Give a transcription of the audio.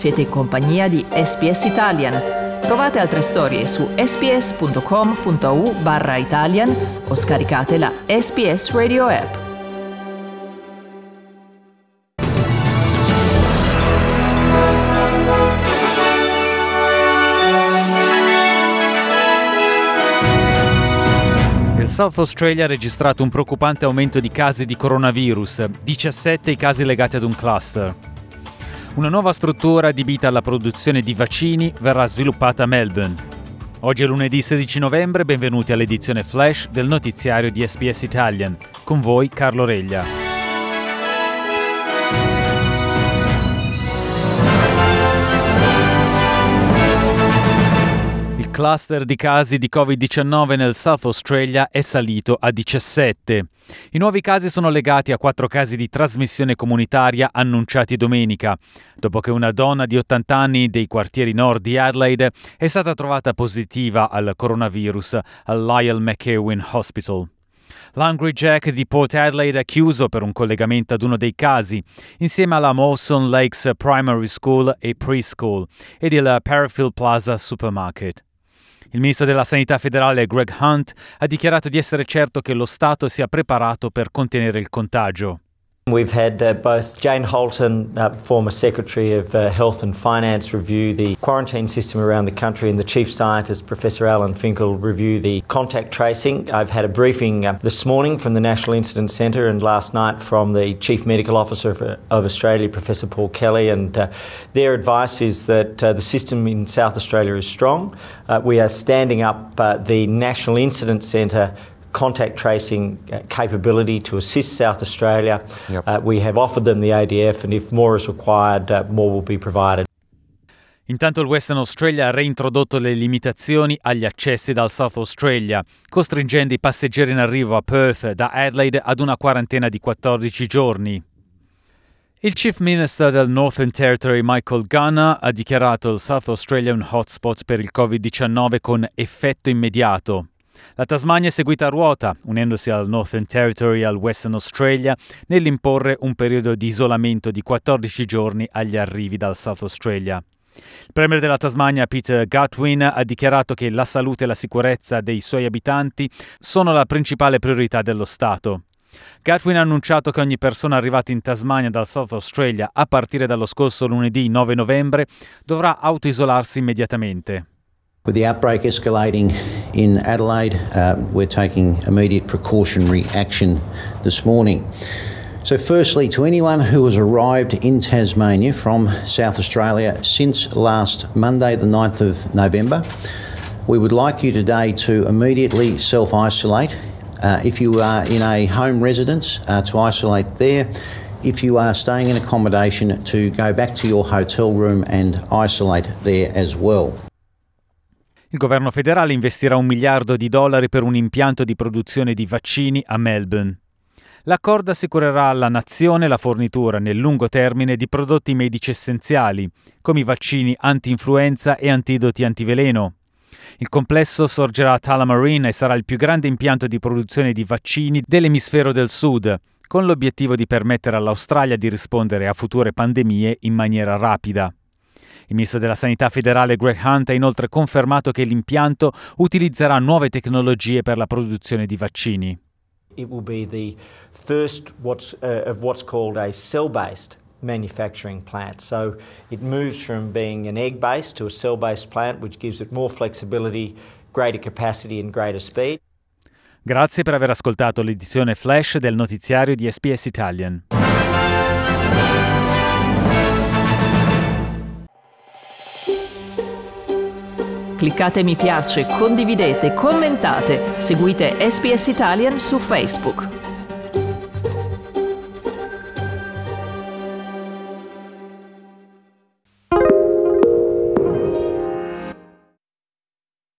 Siete in compagnia di SPS Italian. Trovate altre storie su sps.com.au/Italian o scaricate la SPS Radio app. Il South Australia ha registrato un preoccupante aumento di casi di coronavirus, 17 i casi legati ad un cluster. Una nuova struttura adibita alla produzione di vaccini verrà sviluppata a Melbourne. Oggi è lunedì 16 novembre, benvenuti all'edizione Flash del notiziario di SPS Italian. Con voi Carlo Reglia. Il cluster di casi di Covid-19 nel South Australia è salito a 17. I nuovi casi sono legati a 4 casi di trasmissione comunitaria annunciati domenica, dopo che una donna di 80 anni dei quartieri nord di Adelaide è stata trovata positiva al coronavirus al Lyell McEwen Hospital. L'Hungry Jack di Port Adelaide è chiuso per un collegamento ad uno dei casi, insieme alla Mawson Lakes Primary School e Preschool ed il Parafield Plaza Supermarket. Il ministro della Sanità federale Greg Hunt ha dichiarato di essere certo che lo Stato sia preparato per contenere il contagio. We've had both Jane Holton, former Secretary of Health and Finance, review the quarantine system around the country, and the Chief Scientist, Professor Alan Finkel, review the contact tracing. I've had a briefing this morning from the National Incident Centre and last night from the Chief Medical Officer of Australia, Professor Paul Kelly, and their advice is that the system in South Australia is strong. We are standing up the National Incident Centre contact tracing capability to assist South Australia. Yep. We have offered them the ADF, and if more is required, more will be provided. Intanto il Western Australia ha reintrodotto le limitazioni agli accessi dal South Australia, costringendo i passeggeri in arrivo a Perth da Adelaide ad una quarantena di 14 giorni. Il Chief Minister del Northern Territory Michael Gunner ha dichiarato il South Australia un hotspot per il Covid-19 con effetto immediato. La Tasmania è seguita a ruota, unendosi al Northern Territory e al Western Australia, nell'imporre un periodo di isolamento di 14 giorni agli arrivi dal South Australia. Il premier della Tasmania, Peter Gutwein, ha dichiarato che la salute e la sicurezza dei suoi abitanti sono la principale priorità dello Stato. Gutwein ha annunciato che ogni persona arrivata in Tasmania dal South Australia a partire dallo scorso lunedì 9 novembre dovrà autoisolarsi immediatamente. With the outbreak escalating in Adelaide, we're taking immediate precautionary action this morning. So firstly, to anyone who has arrived in Tasmania from South Australia since last Monday, the 9th of November, we would like you today to immediately self-isolate. If you are in a home residence, to isolate there. If you are staying in accommodation, to go back to your hotel room and isolate there as well. Il governo federale investirà $1 miliardo per un impianto di produzione di vaccini a Melbourne. L'accordo assicurerà alla nazione la fornitura nel lungo termine di prodotti medici essenziali, come i vaccini anti-influenza e antidoti antiveleno. Il complesso sorgerà a Tullamarine e sarà il più grande impianto di produzione di vaccini dell'emisfero del sud, con l'obiettivo di permettere all'Australia di rispondere a future pandemie in maniera rapida. Il ministro della Sanità federale Greg Hunt ha inoltre confermato che l'impianto utilizzerà nuove tecnologie per la produzione di vaccini. It will be the first of what's called a cell-based manufacturing plant. So it moves from being an egg-based to a cell-based plant, which gives it more flexibility, greater capacity and greater speed. Grazie per aver ascoltato l'edizione Flash del notiziario di SPS Italian. Cliccate mi piace, condividete, commentate, seguite SPS Italian su Facebook.